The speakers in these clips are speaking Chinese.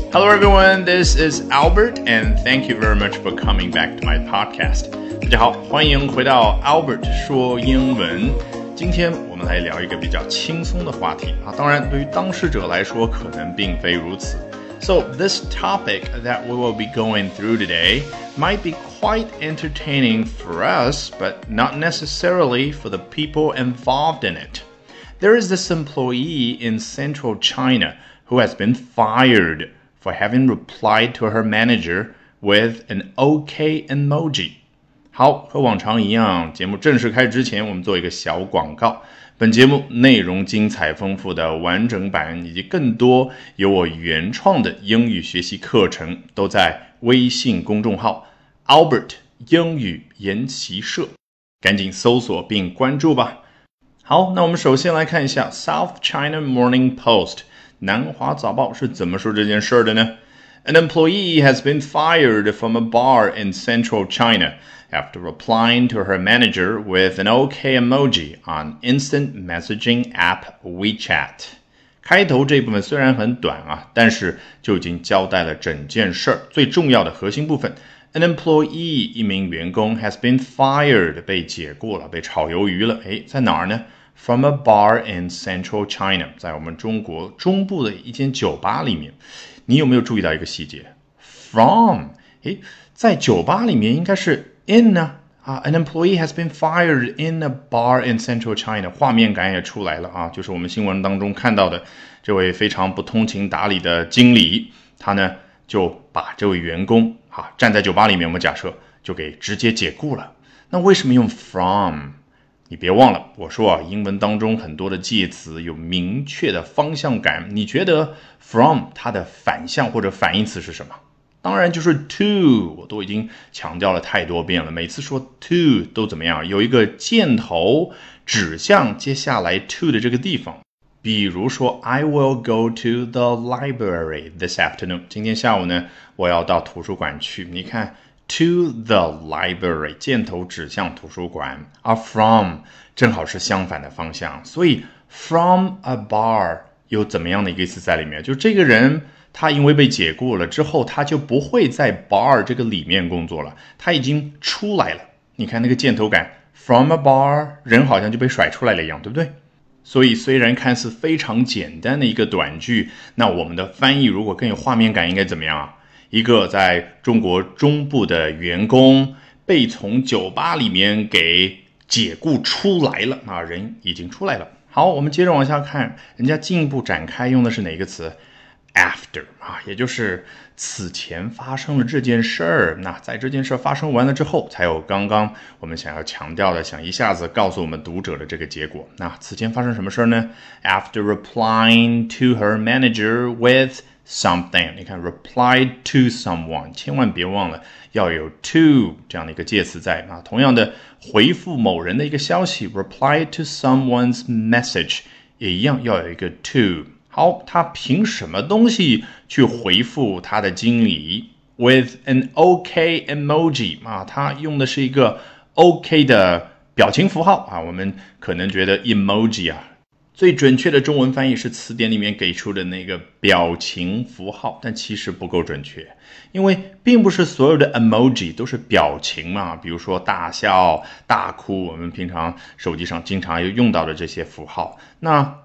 Hello everyone, this is Albert and thank you very much for coming back to my podcast. 大家好，欢迎回到 Albert 说英文。今天我们来聊一个比较轻松的话题啊，当然对于当事者来说可能并非如此。So this topic that we will be going through today might be quite entertaining for us, but not necessarily for the people involved in it. There is this employee in central China who has been fired for having replied to her manager with an OK emoji. 好，和往常一样，节目正式开始之前，我们做一个小广告。本节目内容精彩丰富的完整版以及更多由我原创的英语学习课程都在微信公众号 Albert 英语研习社，赶紧搜索并关注吧。好，那我们首先来看一下 South China Morning Post 南华早报是怎么说这件事的呢？ An employee has been fired from a bar in central China after replying to her manager with an OK emoji on instant messaging app WeChat. 开头这部分虽然很短啊，但是就已经交代了整件事儿最重要的核心部分。An employee 一名员工 has been fired 被解雇了，被炒鱿鱼了。诶，在哪儿呢？ From a bar in central China 在我们中国中部的一间酒吧里面。你有没有注意到一个细节 From 诶，在酒吧里面应该是 in 呢An employee has been fired in a bar in central China 画面感也出来了啊，就是我们新闻当中看到的这位非常不通情达理的经理，他呢就把这位员工站在酒吧里面，我们假设就给直接解雇了。那为什么用 from？ 你别忘了我说英文当中很多的介词有明确的方向感，你觉得 from 它的反向或者反义词是什么？当然就是 to， 我都已经强调了太多遍了，每次说 to 都怎么样，有一个箭头指向接下来 to 的这个地方。比如说 I will go to the library this afternoon， 今天下午呢我要到图书馆去，你看 to the library 箭头指向图书馆，而 from 正好是相反的方向，所以 from a bar 有怎么样的一个意思在里面，就这个人他因为被解雇了之后，他就不会在 bar 这个里面工作了，他已经出来了。你看那个箭头感 from a bar， 人好像就被甩出来了一样，对不对？所以虽然看似非常简单的一个短句，那我们的翻译如果更有画面感应该怎么样啊？一个在中国中部的员工被从酒吧里面给解雇出来了，人已经出来了。好，我们接着往下看，人家进一步展开用的是哪个词？After 也就是此前发生了这件事儿，那在这件事发生完了之后，才有刚刚我们想要强调的，想一下子告诉我们读者的这个结果。那此前发生什么事儿呢？ After replying to her manager with something， 你看 reply to someone， 千万别忘了要有 to 这样的一个介词在同样的回复某人的一个消息 reply to someone's message 也一样要有一个 to。好，他凭什么东西去回复他的经理 with an OK emoji 他用的是一个 OK 的表情符号我们可能觉得 emoji 最准确的中文翻译是词典里面给出的那个表情符号，但其实不够准确，因为并不是所有的 emoji 都是表情比如说大笑、大哭，我们平常手机上经常用到的这些符号。那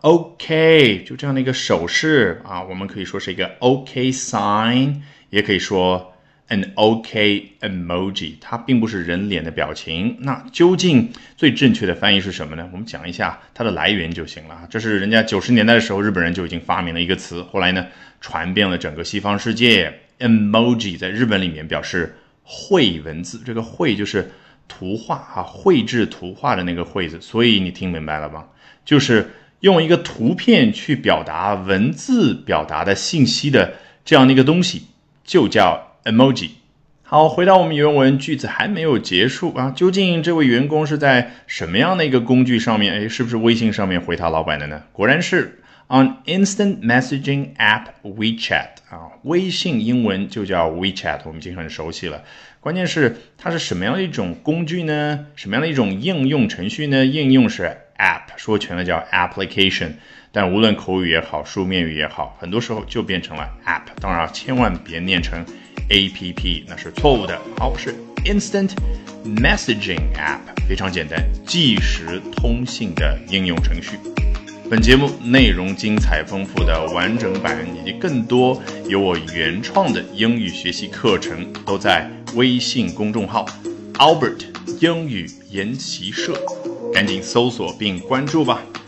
OK 就这样的一个手势我们可以说是一个 OK sign， 也可以说an OK emoji， 它并不是人脸的表情。那究竟最正确的翻译是什么呢？我们讲一下它的来源就行了。这是人家90年代的时候日本人就已经发明了一个词，后来呢传遍了整个西方世界。emoji 在日本里面表示绘文字，这个绘就是图画绘制图画的那个绘字，所以你听明白了吗？就是用一个图片去表达文字表达的信息的这样的一个东西，就叫emoji。 好，回到我们原文，句子还没有结束究竟这位员工是在什么样的一个工具上面，是不是微信上面回他老板的呢？果然是 on instant messaging app WeChat 微信英文就叫 WeChat， 我们已经很熟悉了。关键是它是什么样的一种工具呢？什么样的一种应用程序呢？应用是 app， 说全了叫 application， 但无论口语也好，书面语也好，很多时候就变成了 app。当然千万别念成 app， 那是错误的。好，是 instant messaging app， 非常简单，即时通信的应用程序。本节目内容精彩丰富的完整版以及更多由我原创的英语学习课程都在微信公众号 Albert 英语研习社，赶紧搜索并关注吧。